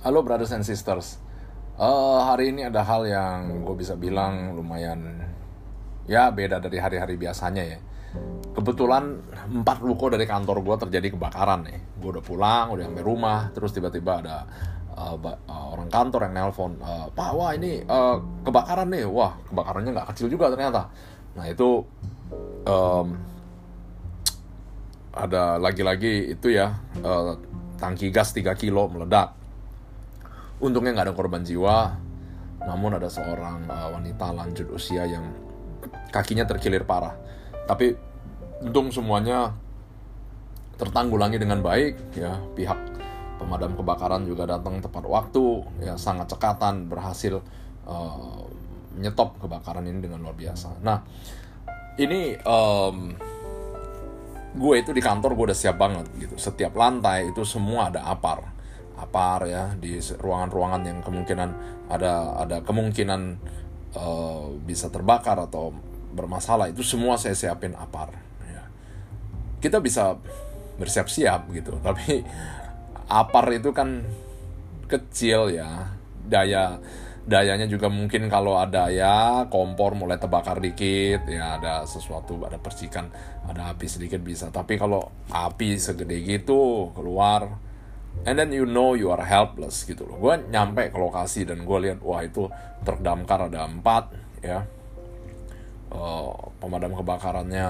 Halo brothers and sisters. Hari ini ada hal yang gue bisa bilang lumayan ya beda dari hari-hari biasanya ya. Kebetulan 4 ruko dari kantor gue terjadi kebakaran nih. Gue udah pulang, udah sampai rumah, terus tiba-tiba ada orang kantor yang nelpon, Pak, wah ini kebakaran nih. Wah, kebakarannya nggak kecil juga ternyata. Nah itu ada lagi-lagi itu ya, tangki gas 3 kilo meledak. Untungnya nggak ada korban jiwa, namun ada seorang wanita lanjut usia yang kakinya terkilir parah. Tapi untung semuanya tertanggulangi dengan baik ya. Pihak pemadam kebakaran juga datang tepat waktu ya, sangat cekatan, berhasil menyetop kebakaran ini dengan luar biasa. Nah ini gue itu di kantor gue udah siap banget gitu. Setiap lantai itu semua ada apar ya, di ruangan-ruangan yang kemungkinan ada kemungkinan bisa terbakar atau bermasalah, itu semua saya siapin apar ya. Kita bisa bersiap-siap gitu, tapi apar itu kan kecil ya, dayanya juga mungkin kalau ada ya kompor mulai terbakar dikit ya, ada sesuatu, ada percikan, ada api sedikit bisa. Tapi kalau api segede gitu keluar, and then you know you are helpless gitu loh. Gue nyampe ke lokasi dan gue lihat, wah itu truk damkar ada 4 ya, pemadam kebakarannya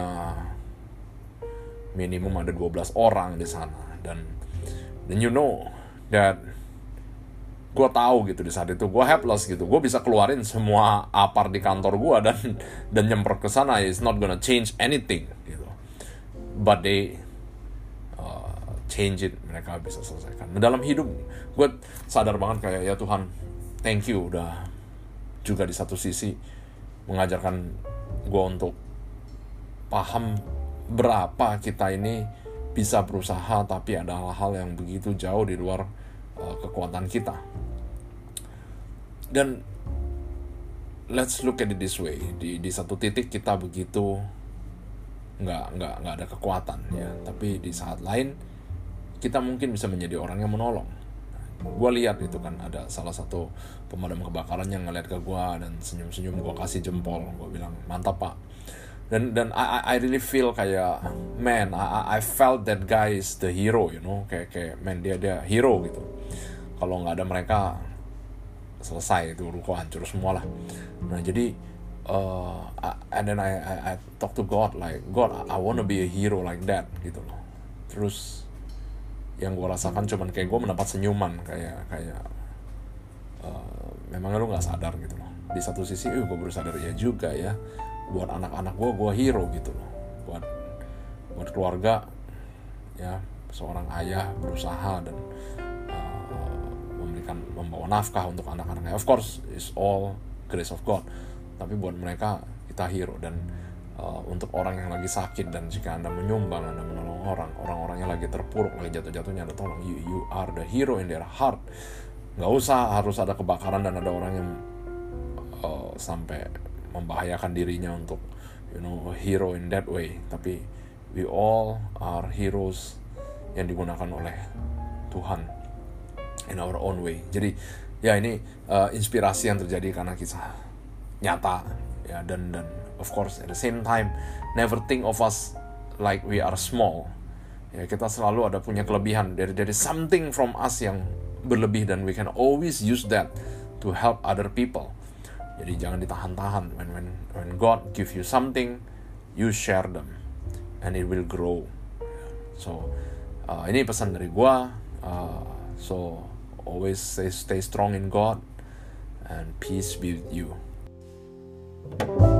minimum ada 12 orang di sana. Dan you know that gue tahu gitu di saat itu gue helpless gitu. Gue bisa keluarin semua apar di kantor gue dan nyemprot ke sana, it's not gonna change anything gitu. But they change it, mereka bisa selesaikan. Nah, dalam hidup gue sadar banget kayak, ya Tuhan, thank you udah juga di satu sisi mengajarkan gue untuk paham berapa kita ini bisa berusaha, tapi ada hal-hal yang begitu jauh di luar kekuatan kita. Dan let's look at it this way, di satu titik kita begitu nggak ada kekuatan ya, tapi di saat lain kita mungkin bisa menjadi orang yang menolong. Gue lihat itu kan ada salah satu pemadam kebakaran yang ngeliat ke gue dan senyum-senyum, gue kasih jempol, gue bilang mantap Pak. Dan I really feel kayak, man, I felt that guy is the hero, you know, kayak man, dia hero gitu. Kalau nggak ada mereka selesai itu ruko hancur semua lah. Nah jadi and then I talk to God like, God, I wanna be a hero like that gitu loh. Terus yang gue rasakan cuman kayak gue mendapat senyuman, kayak memangnya lu nggak sadar gitu loh. Di satu sisi gue baru sadar ya juga ya, buat anak-anak gue hero gitu loh, buat keluarga ya, seorang ayah berusaha dan membawa nafkah untuk anak-anaknya. Of course it's all grace of God, tapi buat mereka kita hero. Dan untuk orang yang lagi sakit, dan jika Anda menyumbang, Anda menolong orang-orang yang lagi terpuruk, lagi jatuh-jatuhnya, Anda tolong, you are the hero in their heart. Nggak usah harus ada kebakaran dan ada orang yang sampai membahayakan dirinya untuk, you know, hero in that way. Tapi we all are heroes yang digunakan oleh Tuhan in our own way. Jadi ya ini inspirasi yang terjadi karena kisah nyata ya, dan of course at the same time never think of us like we are small ya. Kita selalu ada punya kelebihan, dari something from us yang berlebih, dan we can always use that to help other people. Jadi jangan ditahan-tahan. When God give you something, you share them and it will grow. So ini pesan dari gua, so always stay strong in God and peace be with you.